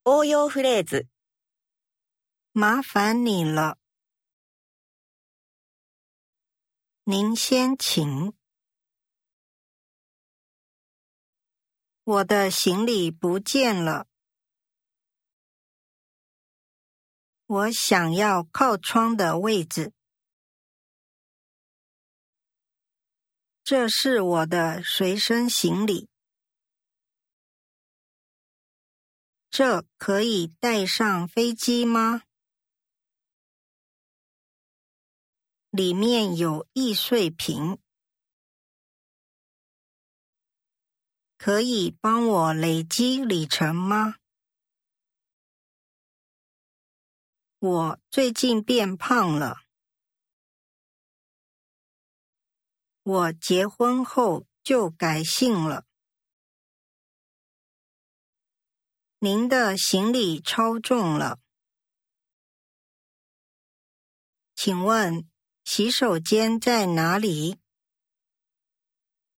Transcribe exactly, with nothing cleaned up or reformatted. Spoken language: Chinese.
応用フレーズ。 麻烦你了。您先请。我的行李不见了。我想要靠窗的位置。这是我的随身行李。这可以带上飞机吗？里面有易碎品。可以帮我累积里程吗？我最近变胖了。我结婚后就改姓了。您的行李超重了。请问洗手间在哪里？